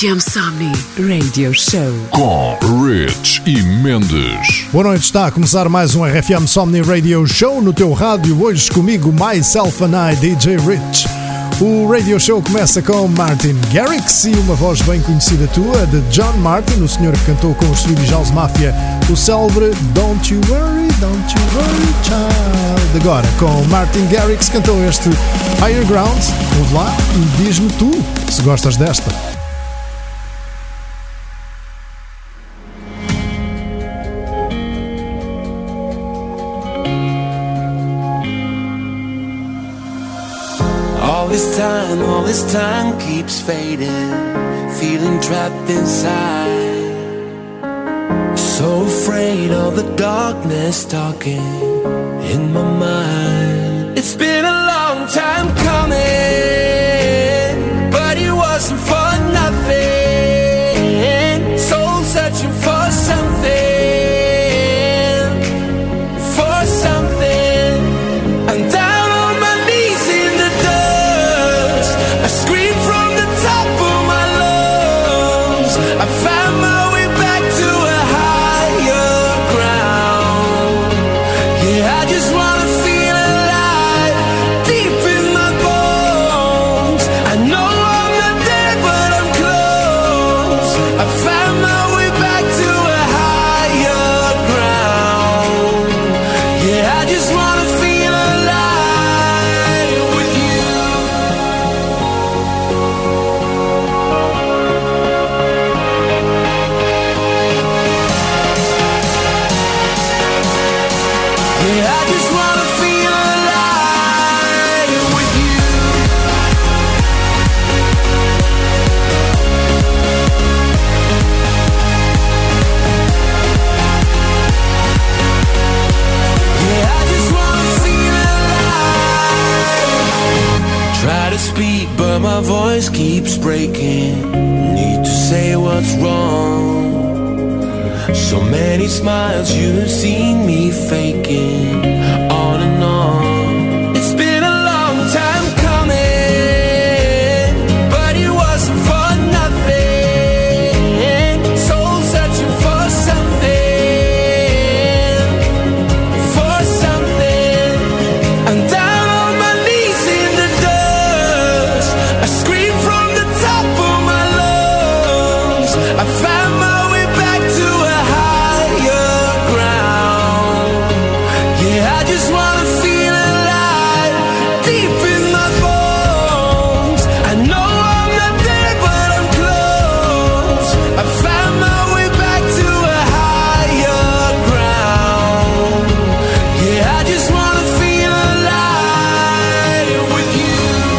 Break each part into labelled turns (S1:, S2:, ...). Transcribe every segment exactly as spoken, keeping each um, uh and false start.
S1: F M Somni Radio Show
S2: com Rich e Mendes.
S3: Boa noite, está a começar mais um R F M Somni Radio Show no teu rádio. Hoje comigo, Myself and I, D J Rich. O Radio Show começa com Martin Garrix e uma voz bem conhecida tua, de John Martin, o senhor que cantou com os Swedish House Mafia o célebre Don't You Worry, Don't You Worry Child. Agora, com Martin Garrix, cantou este Higher Ground. Ouve lá e diz-me tu se gostas desta.
S4: All this time, all this time keeps fading, feeling trapped inside. So afraid of the darkness talking in my mind. It's been a long time coming, but it wasn't for nothing. Soul searching for something, for something. And down on my knees in the dust, I scream from the top of my lungs. I found my way back to a higher ground. Yeah, I just wanna feel alive, deep in my bones. I know I'm not there, but I'm close. I found my way back to a higher ground. Yeah, I just wanna feel alive with you. Yeah, I just wanna feel alive with you. Yeah, I just wanna feel alive. Try to speak, but my voice keeps breaking. Need to say what's wrong. So many smiles you've seen me faking, on and on. It's been a long time coming, but it wasn't for nothing. Soul searching for something, for something. I'm down on my knees in the dust, I scream from the top of my lungs. I found my way back to a higher ground. Yeah, I just wanna feel alive, deep in my bones. I know I'm not there, but I'm close. I found my way back to a higher ground. Yeah, I just wanna feel alive with you.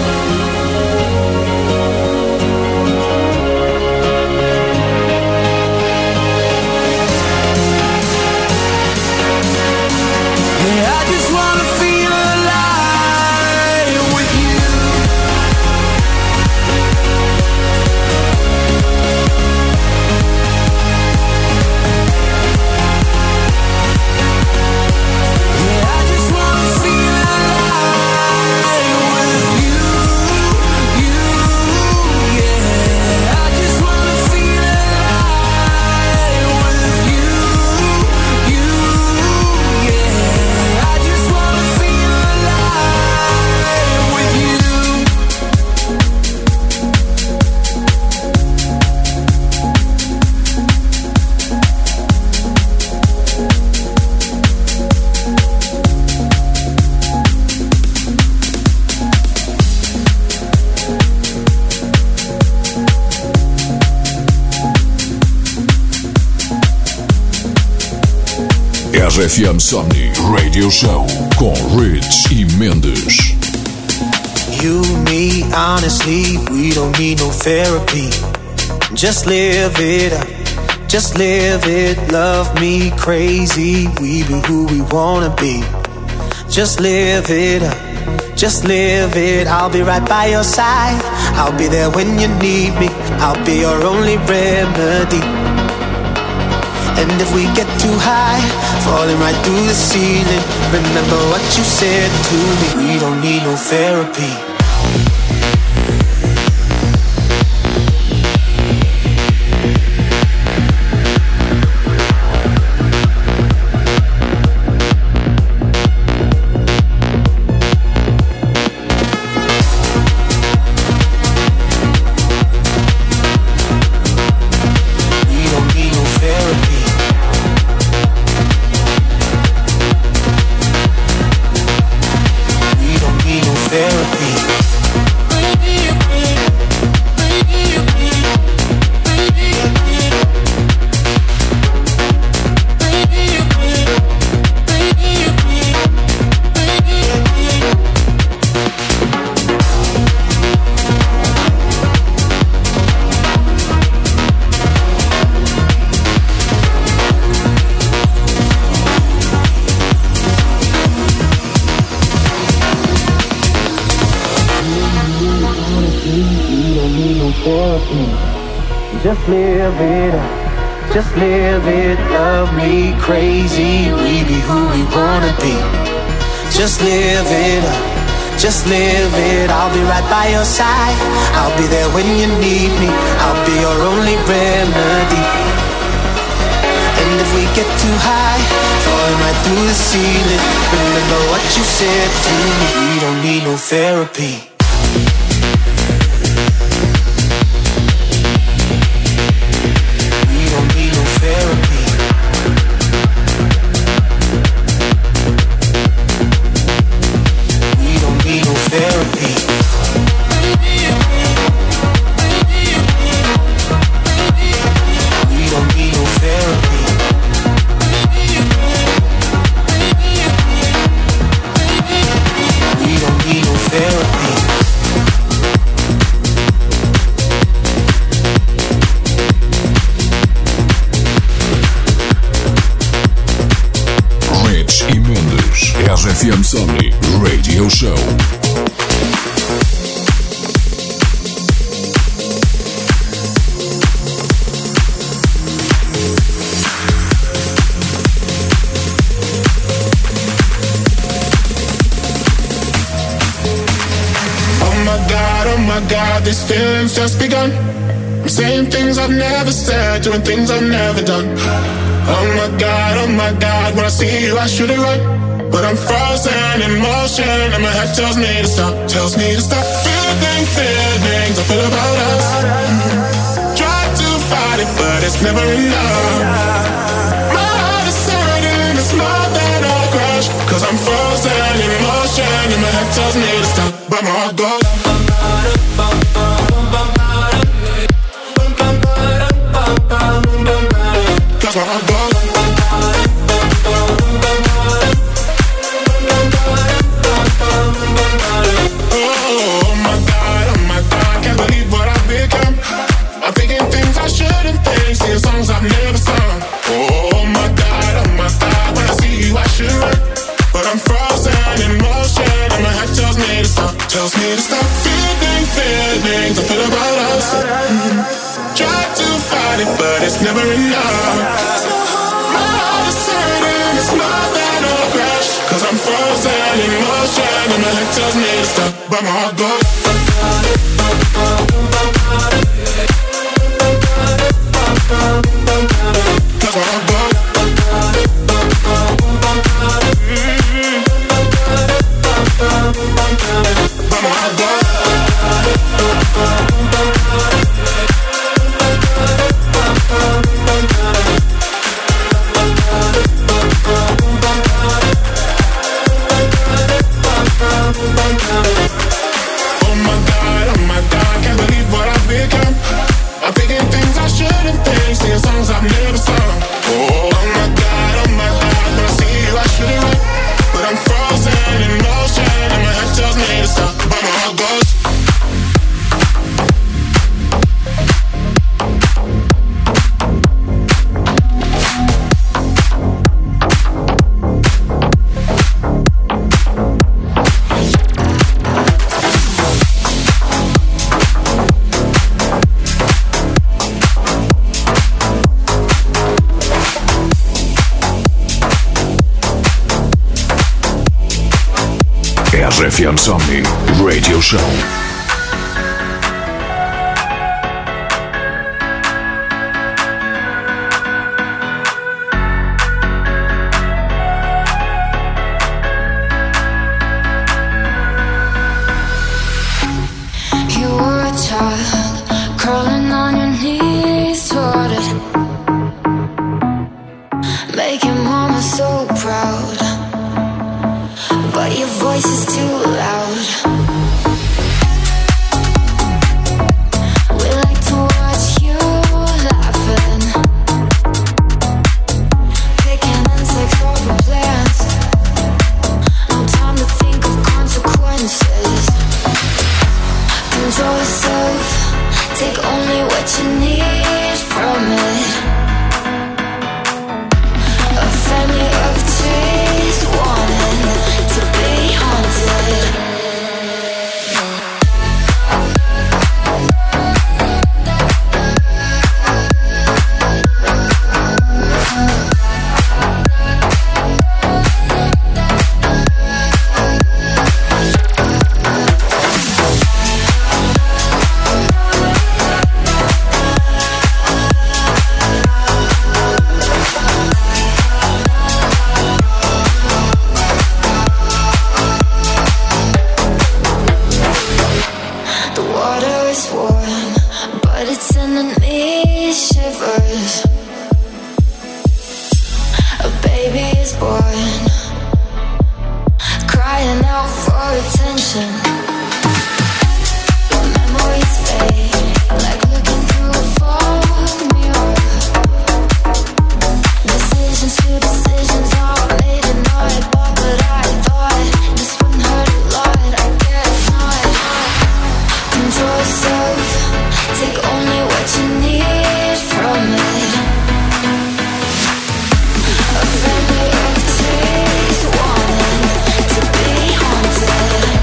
S4: Yeah, I just wanna feel alive with you. Yeah, I just wanna feel alive with you, you, yeah. I just wanna feel alive with you, you, yeah. I just wanna feel alive with you.
S2: R F M Somni Radio Show com Rich e Mendes.
S5: You, me, honestly, we don't need no therapy. Just live it up, just live it. Love me crazy, we be who we wanna be. Just live it up, just live it. I'll be right by your side, I'll be there when you need me. I'll be your only remedy. And if we get too high, falling right through the ceiling, remember what you said to me. We don't need no therapy. just live it up, just live it, love me crazy, we be who we wanna be. Just live it up, just live it, I'll be right by your side, I'll be there when you need me, I'll be your only remedy. And if we get too high, falling right through the ceiling, remember what you said to me, we don't need no therapy.
S2: R F M Somni Radio Show.
S6: God, these feelings just begun. I'm saying things I've never said, doing things I've never done. Oh my God, oh my God, when I see you I should have run, but I'm frozen in motion and my head tells me to stop, tells me to stop. Feeling, feelings I feel about us. Try to fight it, but it's never enough. My heart is hurting, it's more than a crush, cause I'm frozen in motion and my head tells me to stop, but my heart goes. That's where I go. Oh my God, oh my God, can't believe what I've become. I'm thinking things I shouldn't think, singing songs I've never sung. Oh my God, oh my God, when I see you I should run, but I'm frozen in motion and my head tells me to stop, tells me to stop. Feeling, feelings I feel about us. Try to fight it, but it's never enough. My heart is hurting, it's more than a crash, cause I'm frozen in motion and my head tells me to stop, but my heart goes. Cause my heart goes. Mm-hmm. But my heart goes. Oh my God, oh my God, can't believe what I've become. I'm thinking things I shouldn't think, singing songs I've never sung. Oh my God, oh my God, when I see you I should've run, but I'm frozen in motion and my head tells me to stop, but my heart goes.
S2: R F M Somni Radio Show.
S7: Voice is too loud. yours. A baby is born, crying out for attention. Your memories fade, like looking through a fog mirror. Decisions to decisions all made and not bought, but I thought this wouldn't hurt a lot. I guess not. Control yourself, take only what you need from it. A family of trees wanting to be haunted.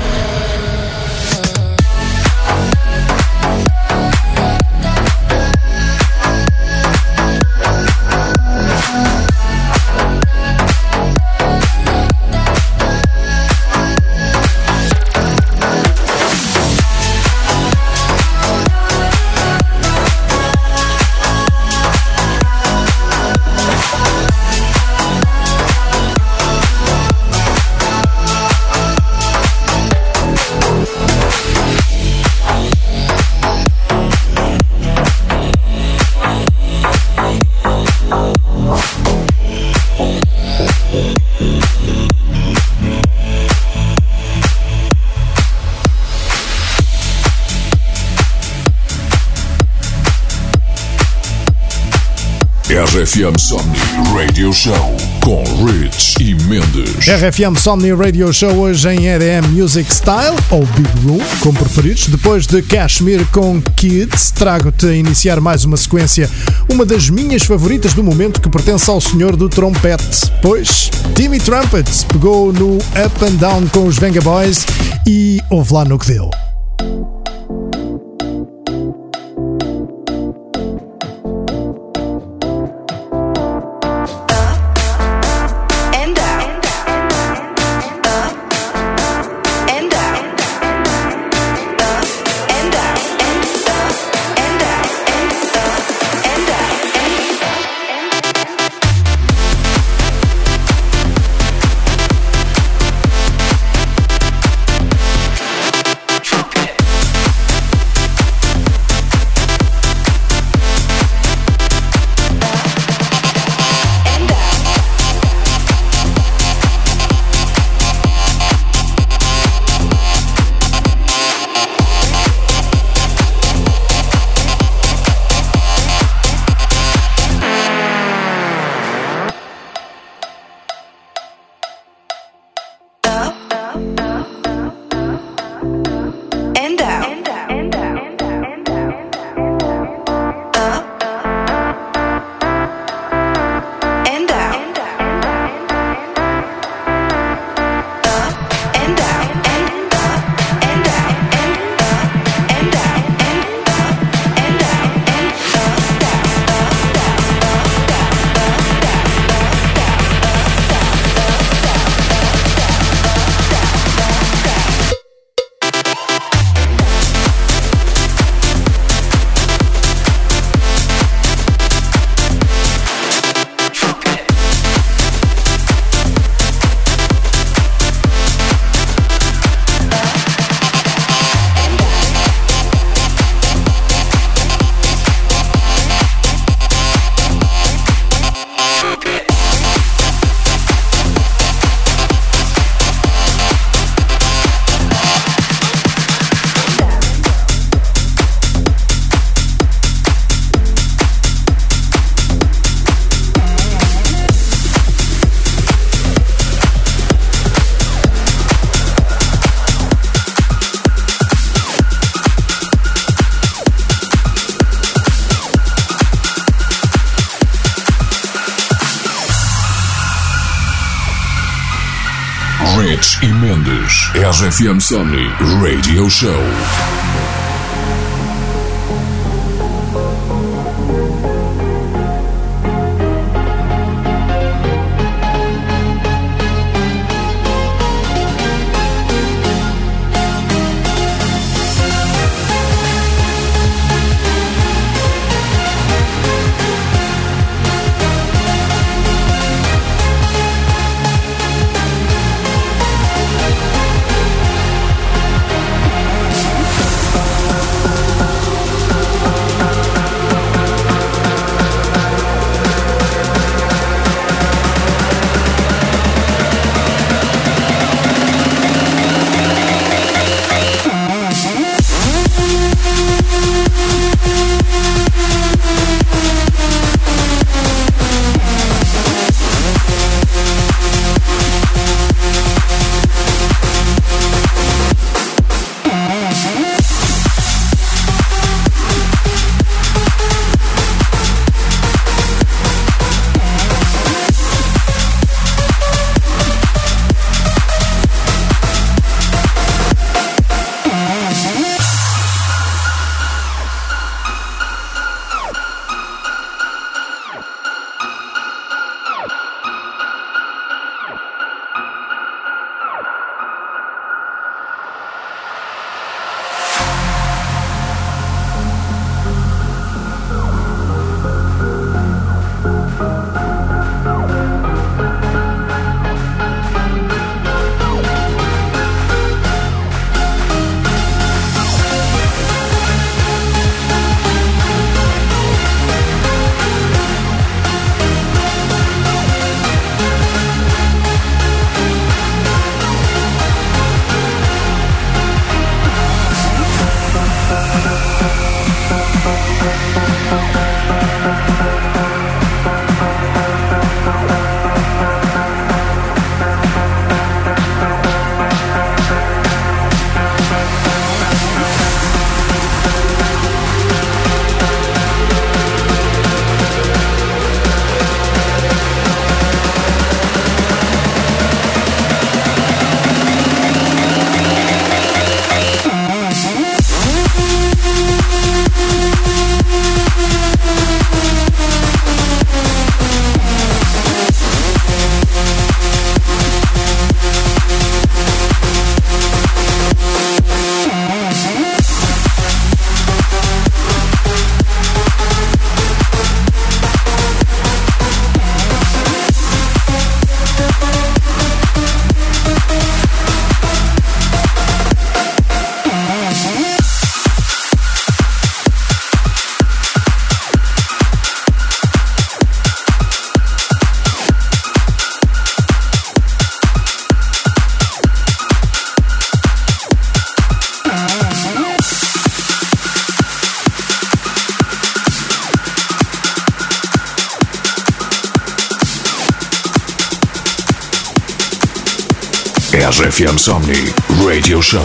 S2: R F M Somni Radio Show com Rich e Mendes.
S3: R F M Somni Radio Show hoje em E D M Music Style, ou Big Room, como preferidos. Depois de Kashmir com Kids, trago-te a iniciar mais uma sequência, uma das minhas favoritas do momento, que pertence ao senhor do trompete. Pois, Timmy Trumpet pegou no Up and Down com os Venga Boys e houve lá no que deu.
S2: Rich e Mendes, R F M Somni Radio Show. R F M Somni Radio Show.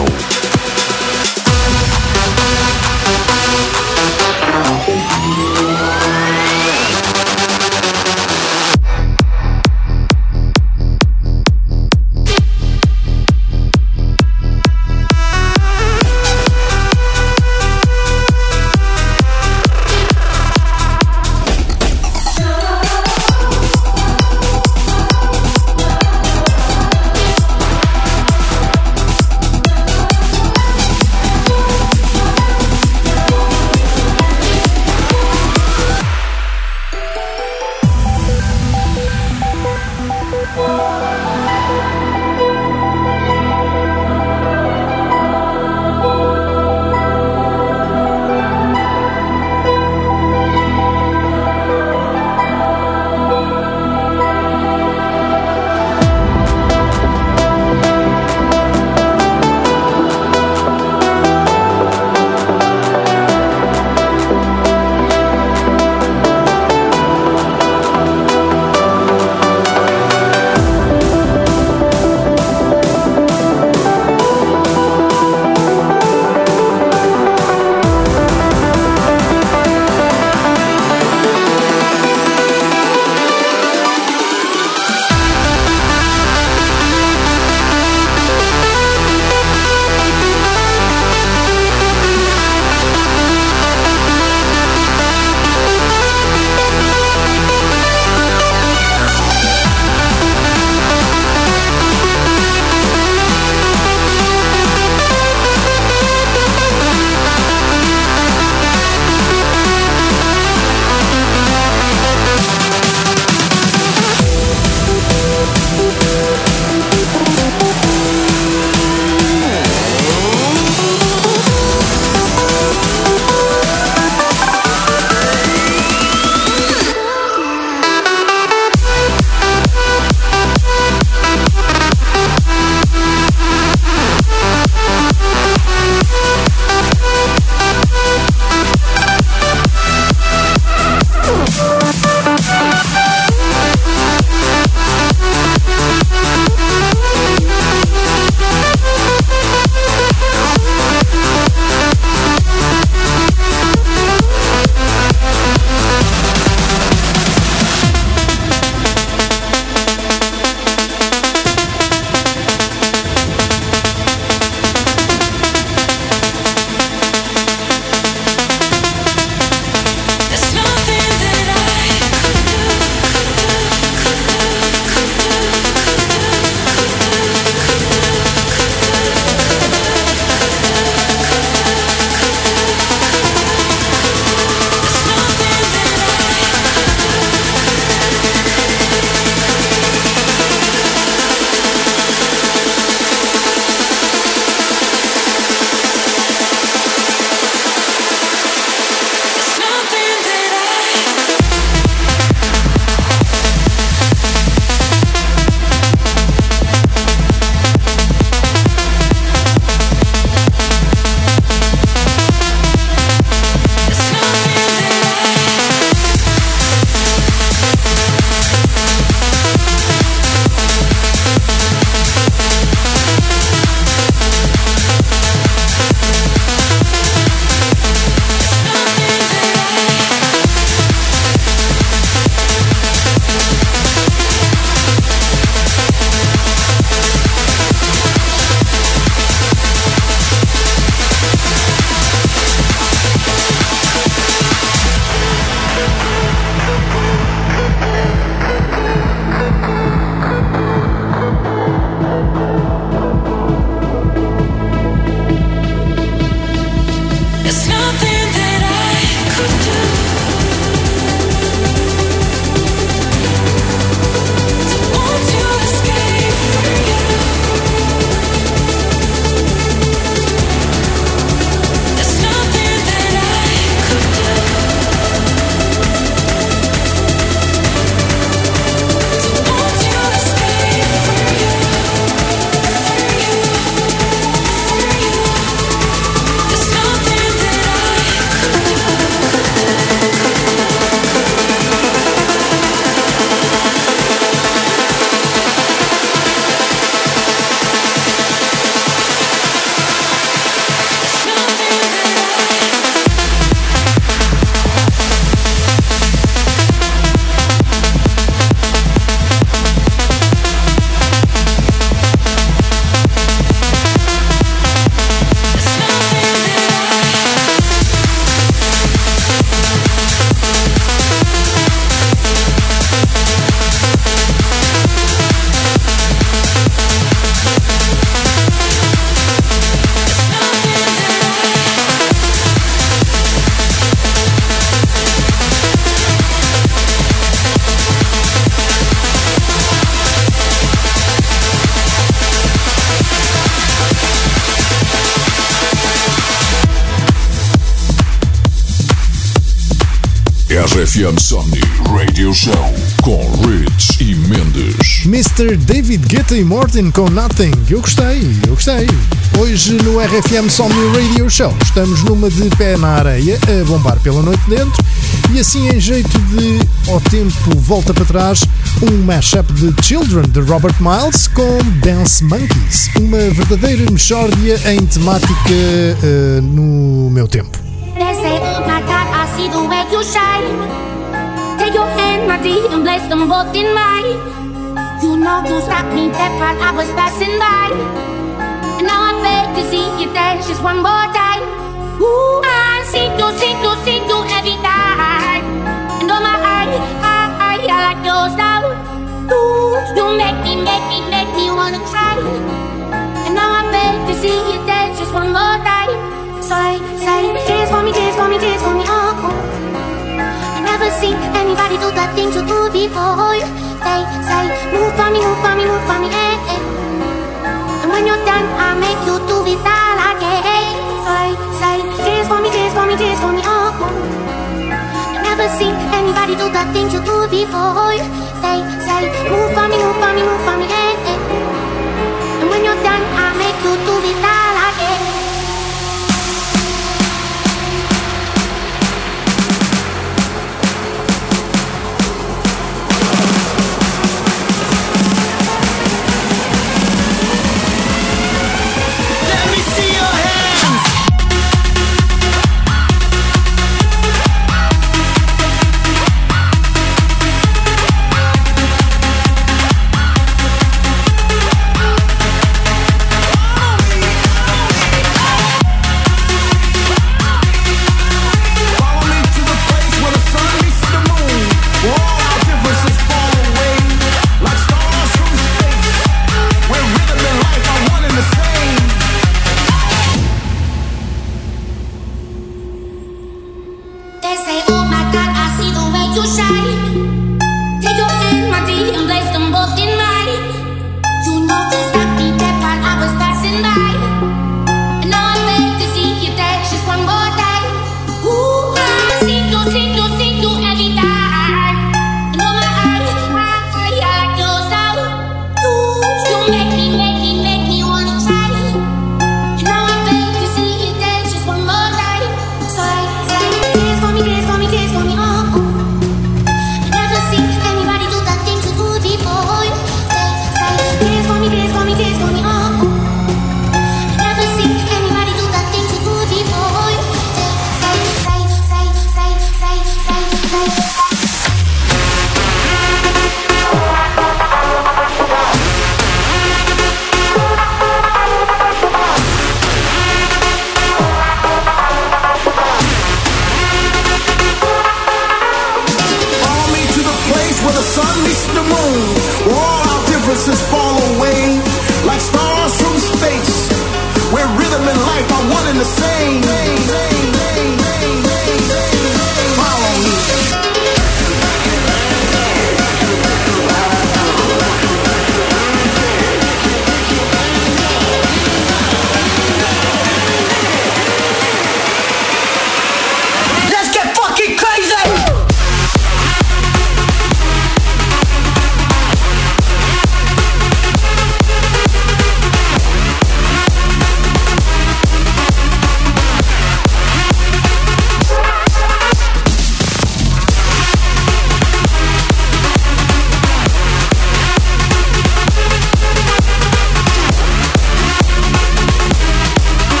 S2: R F M Somni Radio Show com Rich e Mendes.
S3: mister David Guetta e Morten com Nothing. Eu gostei, eu gostei. Hoje no R F M Somni Radio Show estamos numa de pé na areia, a bombar pela noite dentro, e assim em jeito de ao tempo volta para trás, um mashup de Children de Robert Miles com Dance Monkeys, uma verdadeira mexórdia em temática uh, no meu tempo.
S8: They say, oh my God, I see the way you shine. Take your hand, my dear, and place them both in mine. You know you stopped me dead while I was passing by. And now I beg to see you dance just one more time. Ooh, I see you, see you, see you every time. And oh my, I, I, I, I like your style. Ooh, you make me, make me, make me wanna cry. And now I beg to see you dance just one more time. So I say, dance for me, dance for me, dance for me, oh, oh. I never seen anybody do the things you do before. They say, move for me, move for me, move for me, eh, eh. And when you're done, I make you do it all again. So I say, dance for me, dance for me, dance for me, oh, oh. I never seen anybody do the things you do before. They say, move for me, move for me, move for me, eh, eh. And when you're done, I make you do it all again.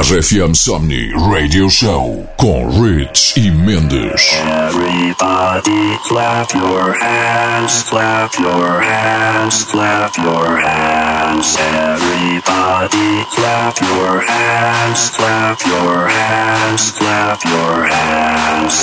S2: R F M Somni Radio Show com Rich e Mendes.
S9: Everybody clap your hands, clap your hands, clap your hands. Everybody clap your hands, clap your hands, clap your hands.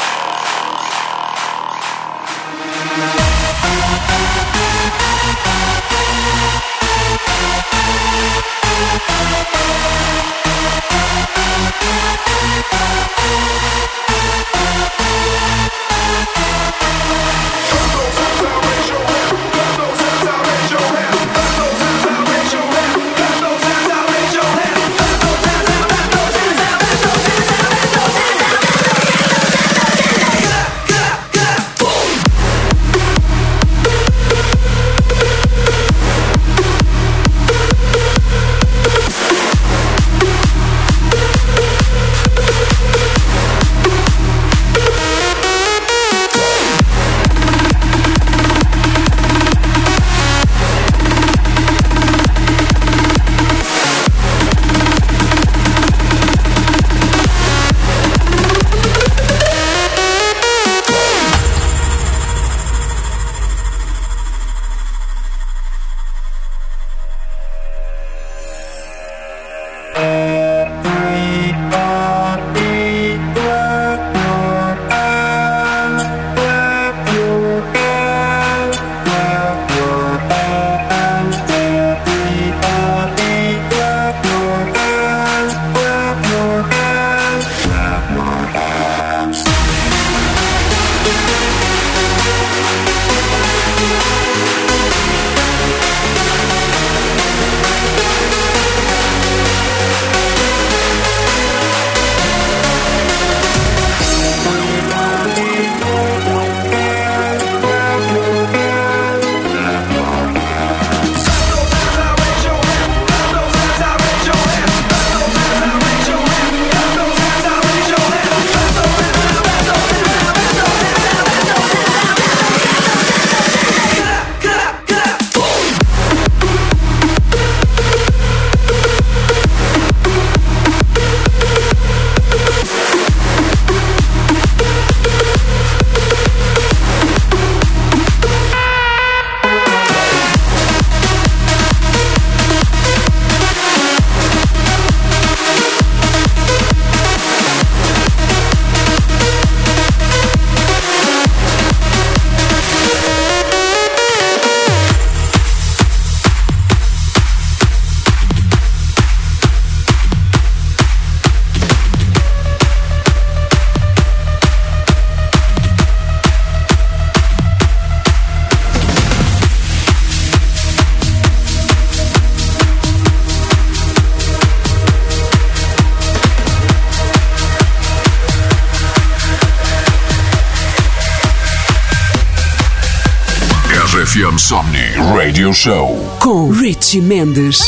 S2: R F M Somni Radio Show
S1: com Richie Mendes.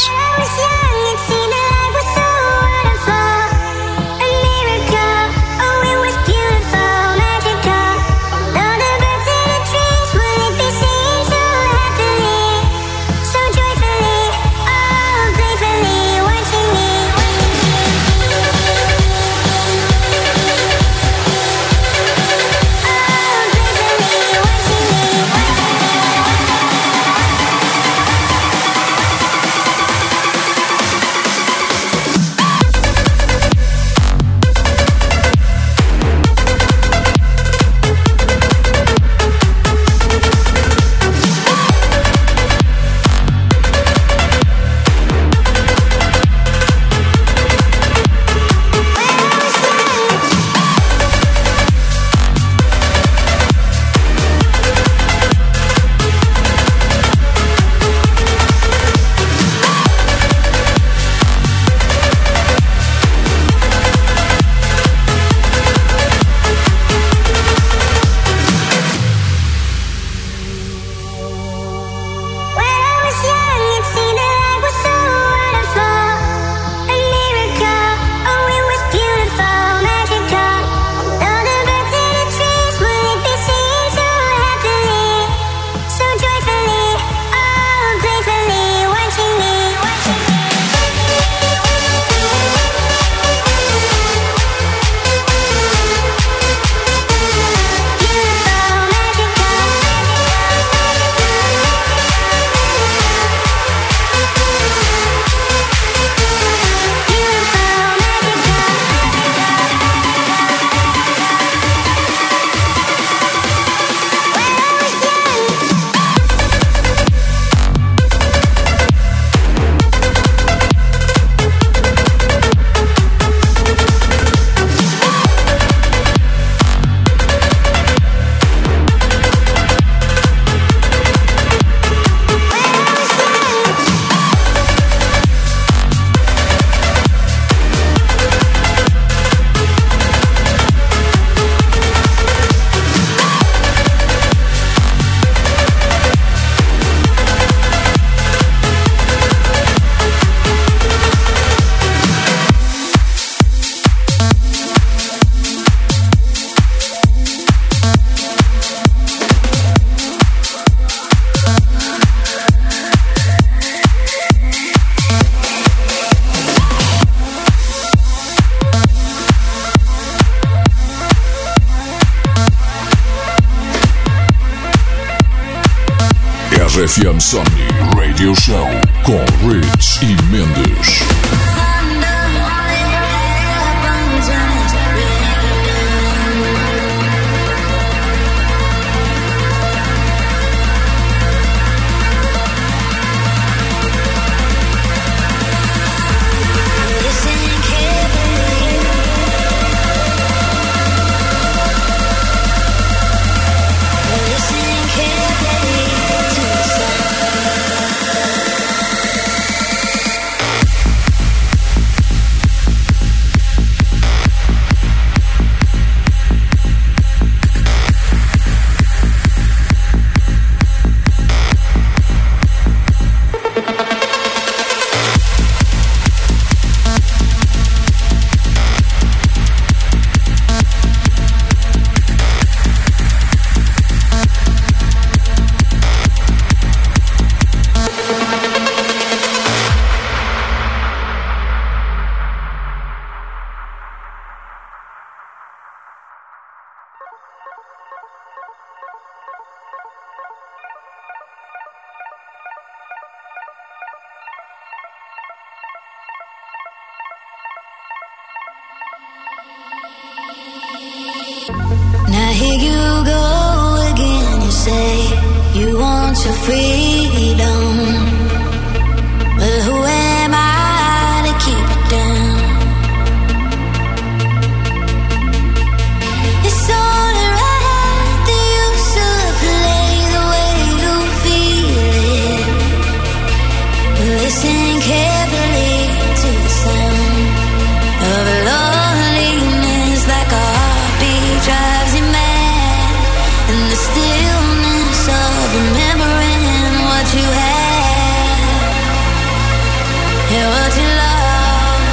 S7: We'll be right back.
S2: R F M Somni Radio Show com Rich e Mendes.
S10: Now here you go again, you say you want your freedom. Well, who am I to keep it down? It's only right that you should play the way you feel it. Listen carefully to the sound of loneliness, like a heartbeat drives you mad, and the stillness of remembering what you had, and what you love,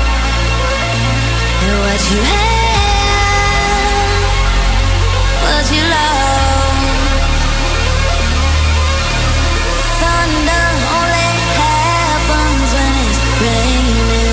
S10: and what you had, what you love. Thunder only happens when it's raining.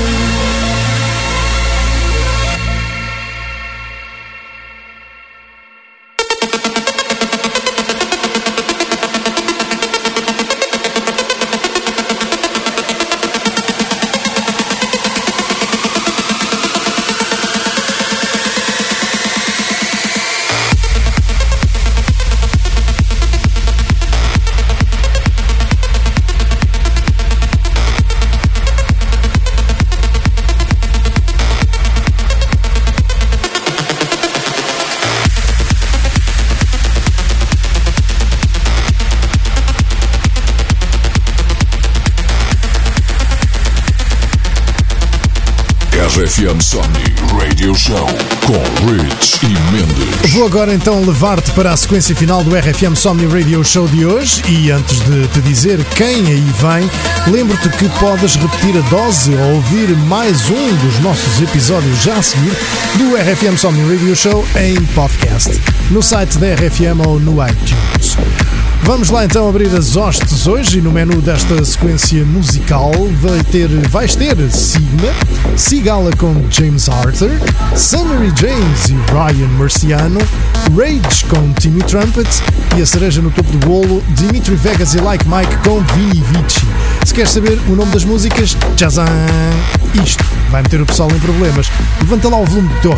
S2: R F M Somni Radio Show com Rich e Mendes.
S3: Vou agora então levar-te para a sequência final do R F M Somni Radio Show de hoje, e antes de te dizer quem aí vem, lembro-te que podes repetir a dose ou ouvir mais um dos nossos episódios já a seguir do R F M Somni Radio Show em podcast, no site da R F M ou no iTunes. Vamos lá então abrir as hostes hoje, e no menu desta sequência musical vai ter, vais ter Sigma, Sigala com James Arthur, Summery James e Ryan Marciano, Rage com Timmy Trumpet e a cereja no topo do bolo, Dimitri Vegas e Like Mike com Vini Vici. Se queres saber o nome das músicas, tchazam! Isto vai meter o pessoal em problemas. Levanta lá o volume do teu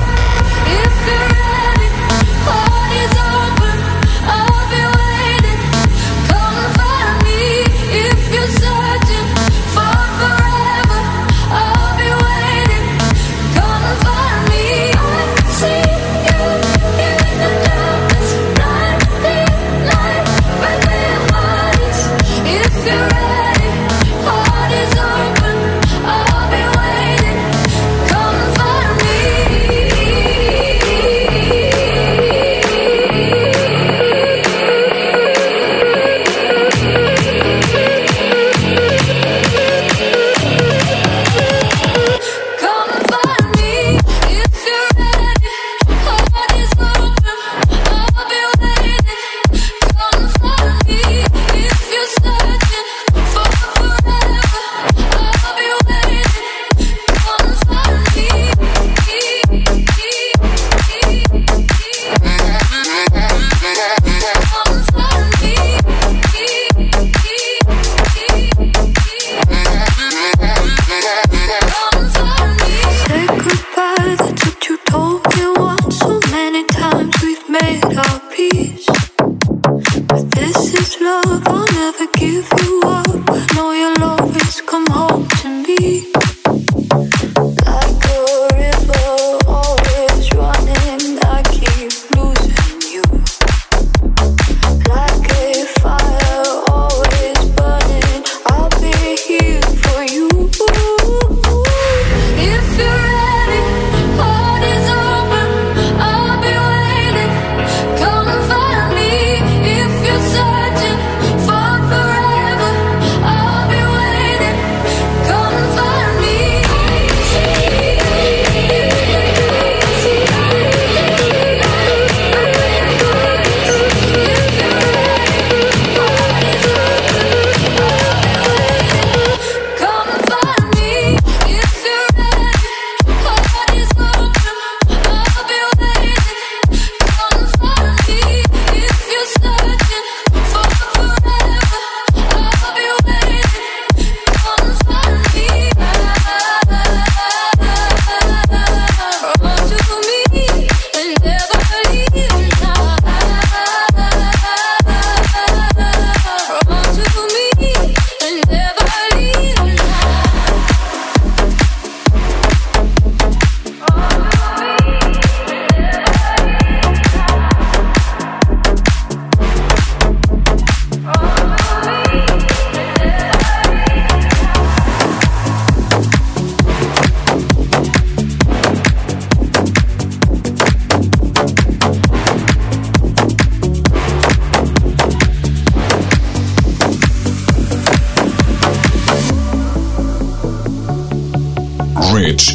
S3: rádio.
S10: Come find me.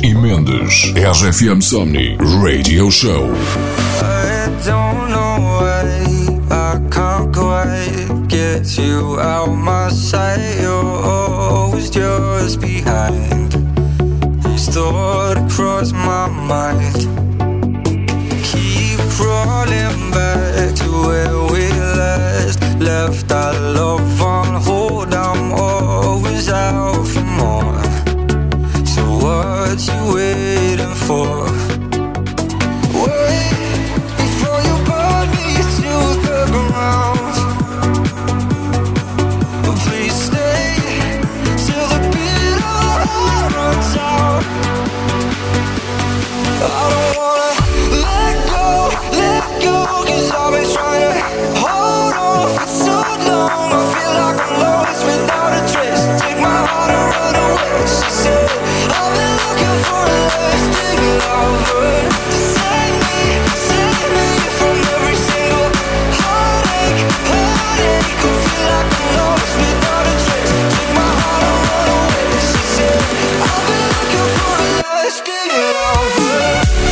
S2: e Mendes. R F M Somni Radio Show.
S11: I don't know why I can't quite get you out my sight. You're always just behind. This thought across my mind. Keep crawling back to where we last left our love on hold. I'm always out for more. So what you waiting for? Wait before you burn me to the ground. Please stay till the beat of our heart runs out. I don't wanna let go, let go, 'cause I've been trying to hold on for so long. I feel like I'm lost without a trace. Take my heart and run away. She said, I've been looking for a lasting lover to save me, save me from every single heartache, heartache. I feel like I'm lost without a trace. Take my heart and run away. She said, I've been looking for a lasting lover.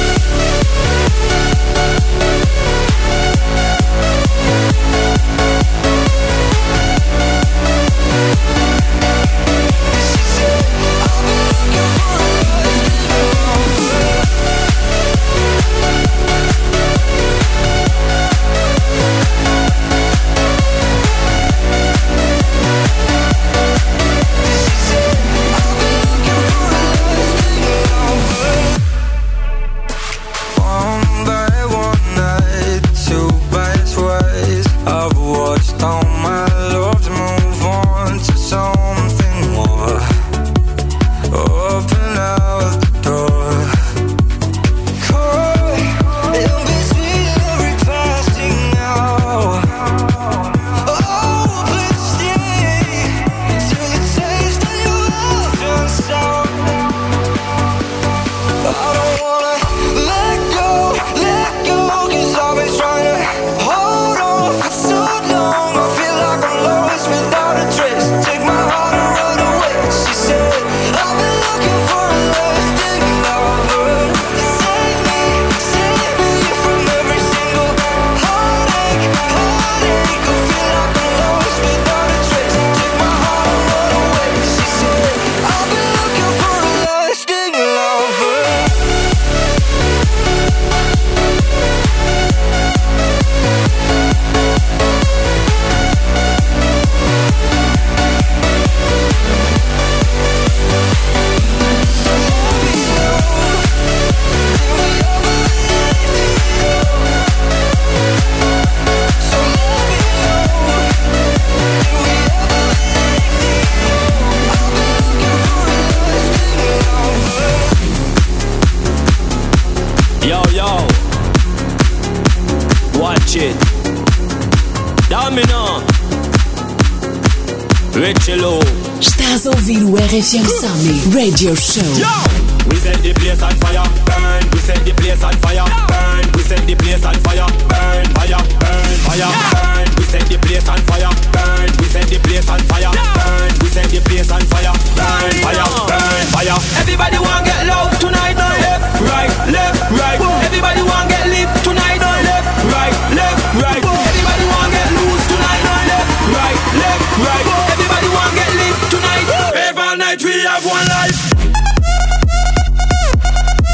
S1: Estás a ouvir o R F M Somni Radio Show.
S12: Yo! We set the place on fire, burn. We set the place on fire, burn. We set the place on fire, burn. Fire, burn, fire, burn. We set the place on fire, burn. We set the place on fire, burn. We set the place on fire, burn. Fire, burn, fire. Everybody want get loud tonight, left, right, left, right. Everybody want get lit tonight, left, right, left, right. Everybody want get loose tonight, left, right, left, right. Everybody want get lit tonight. Every night we have one life.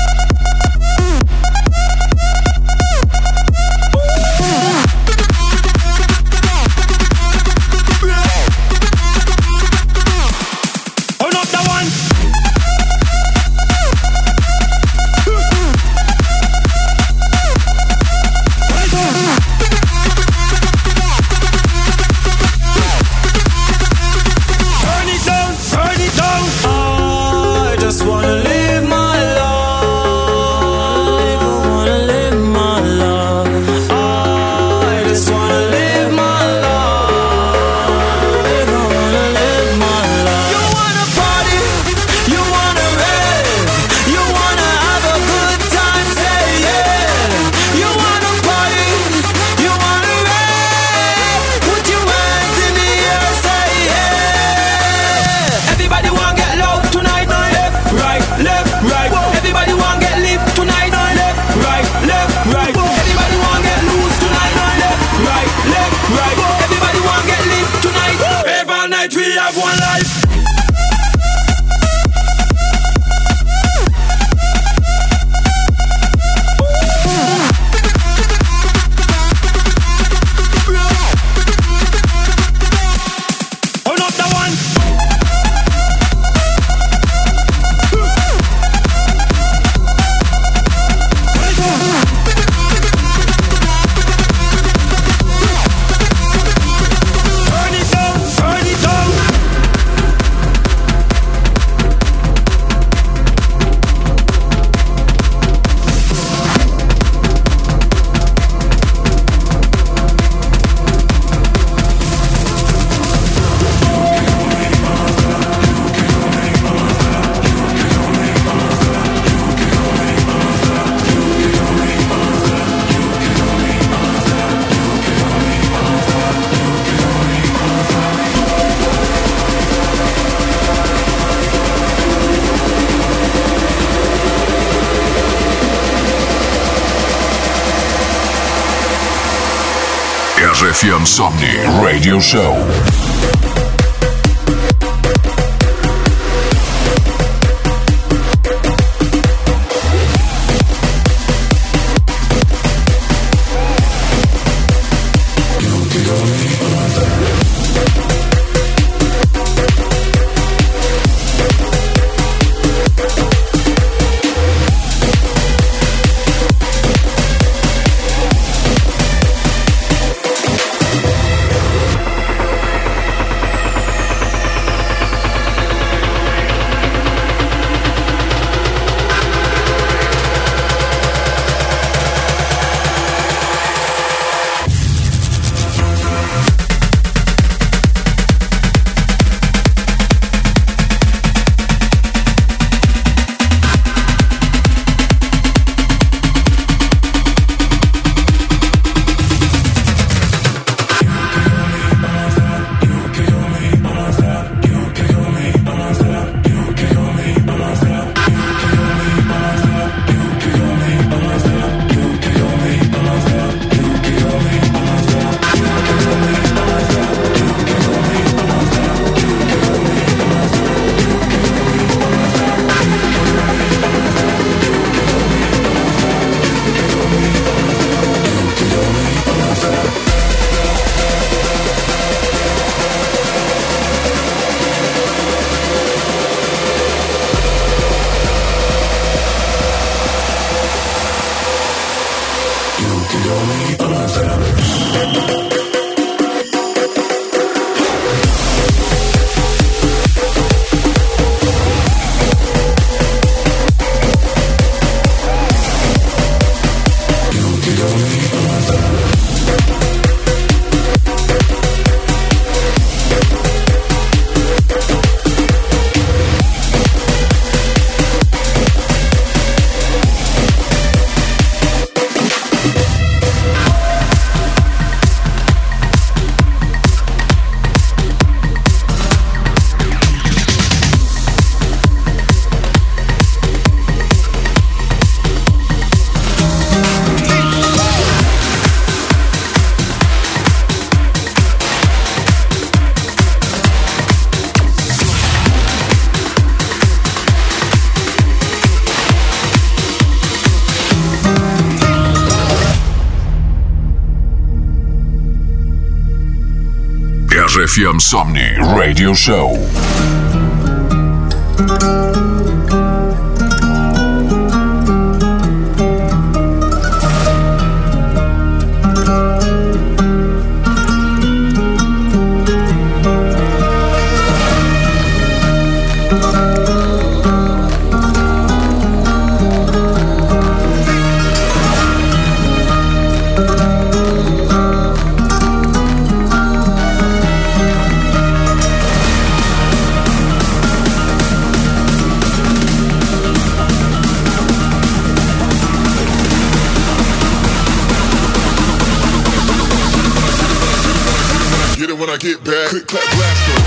S2: R F M Somni Radio Show. R F M Somni Radio Show.
S6: When I get back, click, clap, blast.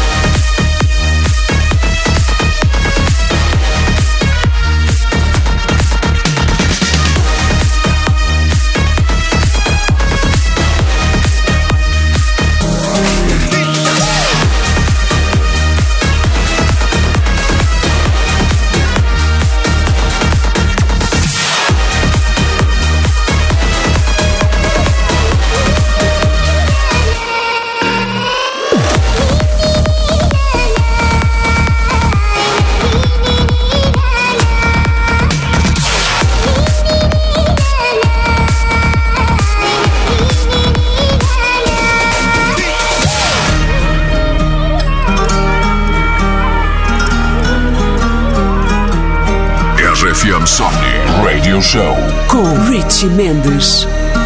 S2: R F M Somni Radio Show
S1: com Richie Mendes.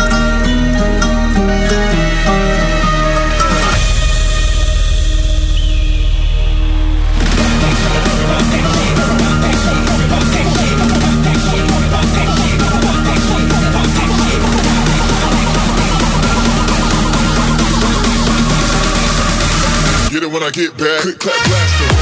S6: Get it when I get back, click, clap, blast.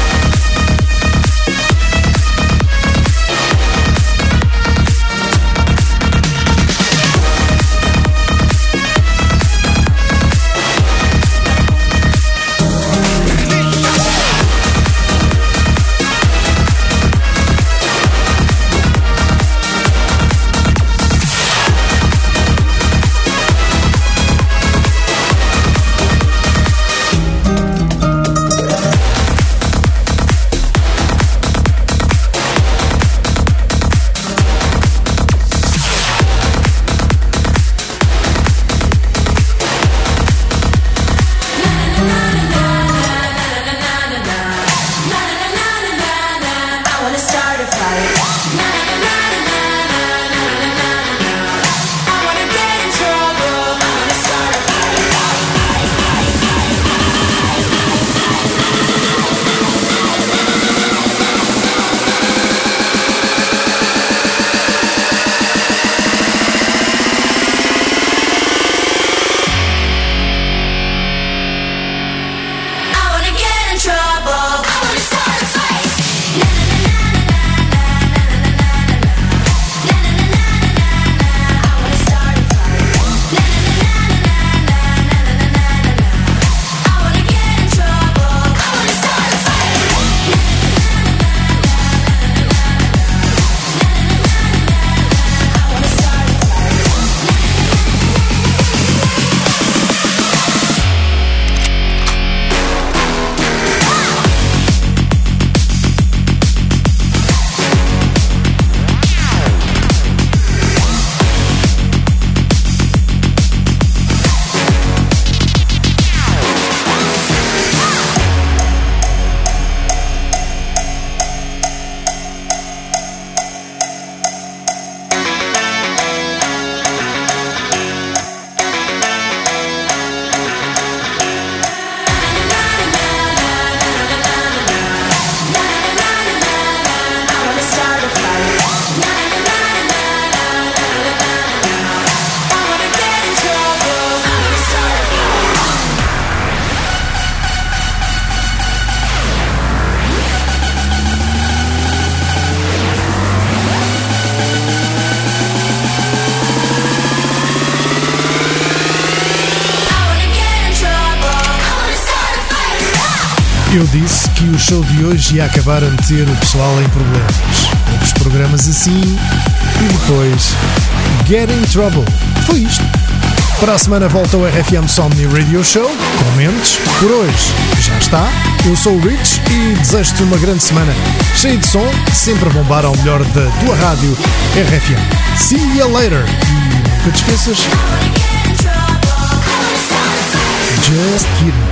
S3: Eu disse que o show de hoje ia acabar a meter o pessoal em problemas. Outros programas assim e depois Get in Trouble. Foi isto. Para a semana volta o R F M Somni Radio Show. Comentes. Por hoje já está. Eu sou o Rich e desejo-te uma grande semana cheia de som, sempre a bombar ao melhor da tua rádio R F M. See you later. E nunca te esqueças. Just kidding.